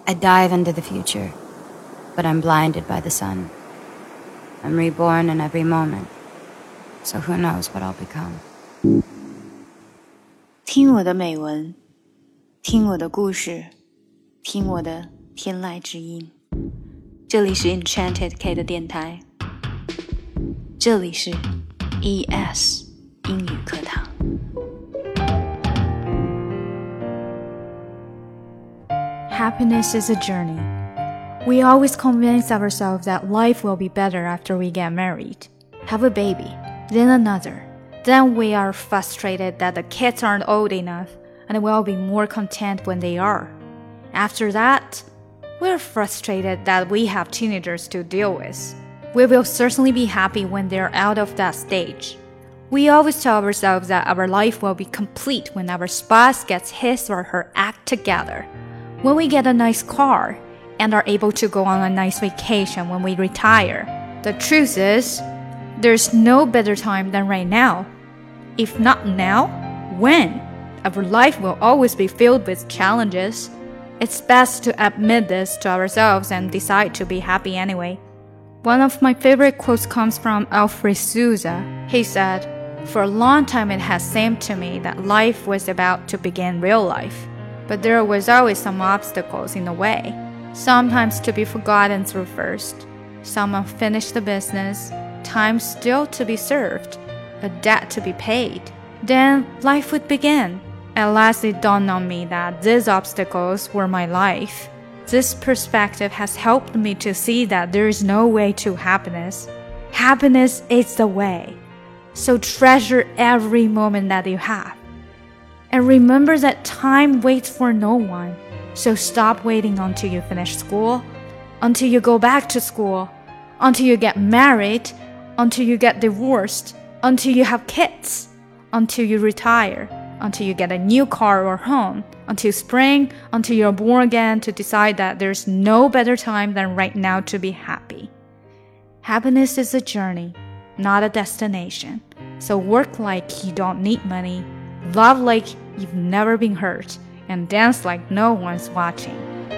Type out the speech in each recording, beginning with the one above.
I dive into the future, but I'm blinded by the sun. I'm reborn in every moment, so who knows what I'll become. 听我的美文，听我的故事，听我的天籁之音。这里是 Enchanted K 的电台，这里是 ES 英语课堂。 Happiness is a journey. We always convince ourselves that life will be better after we get married, have a baby, then another. Then we are frustrated that the kids aren't old enough, and we'll be more content when they are. After that, we're frustrated that we have teenagers to deal with. We will certainly be happy when they're out of that stage. We always tell ourselves that our life will be complete when our spouse gets his or her act together. When we get a nice car and are able to go on a nice vacation when we retire. The truth is, there's no better time than right now. If not now, when? Our life will always be filled with challenges. It's best to admit this to ourselves and decide to be happy anyway. One of my favorite quotes comes from Alfred Souza. He said, "For a long time it has seemed to me that life was about to begin real life. But there was always some obstacles in the way. Sometimes to be forgotten through first, some unfinished business, time still to be served, a debt to be paid. Then life would begin. At last it dawned on me that these obstacles were my life. This perspective has helped me to see that there is no way to happiness. Happiness is the way. So treasure every moment that you have. And remember that time waits for no one. So stop waiting until you finish school, until you go back to school, until you get married, until you get divorced, until you have kids, until you retire, until you get a new car or home, until spring, until you're born again to decide that there's no better time than right now to be happy. Happiness is a journey, not a destination. So work like you don't need money, love like you've never been hurt, and dance like no one's watching.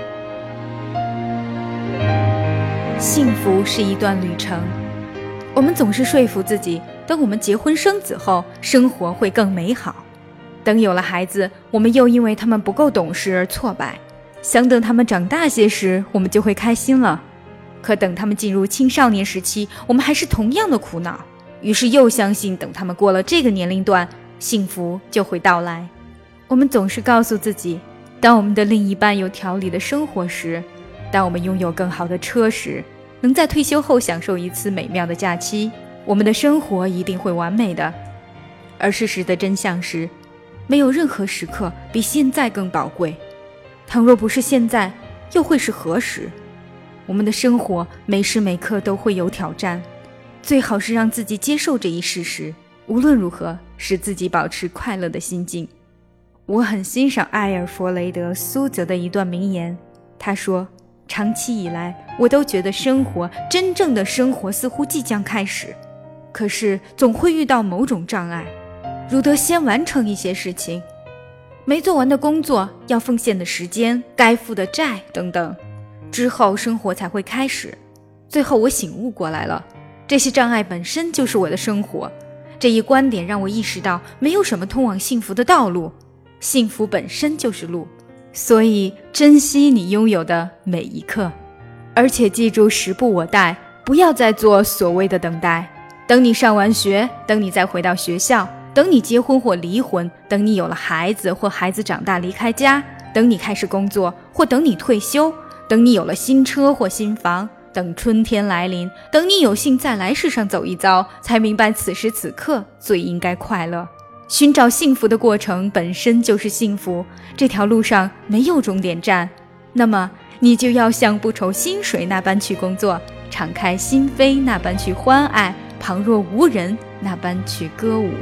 幸福是一段旅程，我们总是说服自己，等我们结婚生子后，生活会更美好。等有了孩子，我们又因为他们不够懂事而挫败。想等他们长大些时，我们就会开心了。可等他们进入青少年时期，我们还是同样的苦恼。于是又相信等他们过了这个年龄段，幸福就会到来。我们总是告诉自己，当我们的另一半有条理的生活时，当我们拥有更好的车时，能在退休后享受一次美妙的假期，我们的生活一定会完美的。而事实的真相是，没有任何时刻比现在更宝贵。倘若不是现在，又会是何时？我们的生活每时每刻都会有挑战，最好是让自己接受这一事实，无论如何使自己保持快乐的心境。我很欣赏埃尔弗雷德·苏泽的一段名言，他说，长期以来我都觉得真正的生活似乎即将开始，可是总会遇到某种障碍，如得先完成一些事情，没做完的工作，要奉献的时间，该付的债等等，之后生活才会开始。最后我醒悟过来了，这些障碍本身就是我的生活。这一观点让我意识到，没有什么通往幸福的道路，幸福本身就是路。所以珍惜你拥有的每一刻，而且记住时不我待，不要再做所谓的等待。等你上完学，等你再回到学校，等你结婚或离婚，等你有了孩子或孩子长大离开家，等你开始工作或等你退休，等你有了新车或新房，等春天来临，等你有幸再来世上走一遭，才明白此时此刻最应该快乐。寻找幸福的过程本身就是幸福，这条路上没有终点站，那么你就要像不愁薪水那般去工作，敞开心扉那般去欢爱，旁若无人那般去歌舞。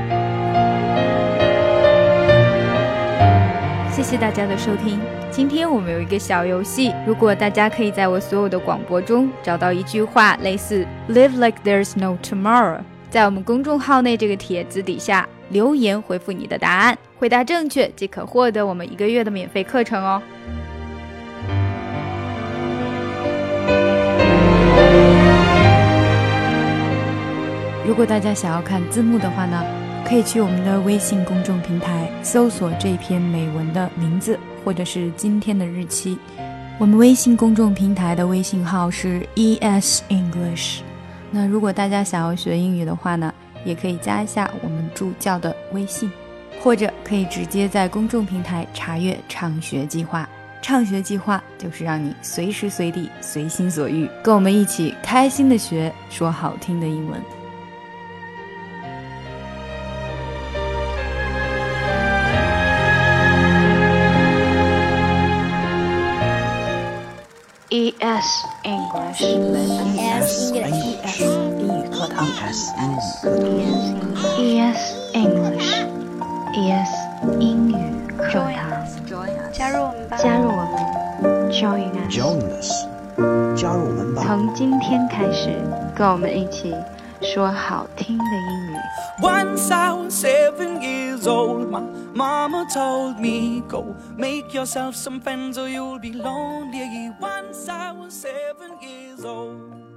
谢谢大家的收听。今天我们有一个小游戏，如果大家可以在我所有的广播中找到一句话类似 Live like there's no tomorrow， 在我们公众号内这个帖子底下留言回复你的答案，回答正确即可获得我们1个月的免费课程哦。 如果大家想要看字幕的话呢，可以去我们的微信公众平台搜索这篇美文的名字或者是今天的日期。我们微信公众平台的微信号是 ES English。 那如果大家想要学英语的话呢，也可以加一下我们助教的微信，或者可以直接在公众平台查阅畅学计划。畅学计划就是让你随时随地随心所欲，跟我们一起开心的学，说好听的英文。 ES English， ES English， 英语课堂 ES English， ES 英语课堂，加入我们吧，加入我们 ，Join us， 加入我们吧。 从今天开始，跟我们一起说好听的英语。 Once I was 7 years old, my mama told me, go make yourself some friends or you'll be lonely. Once I was 7 years old.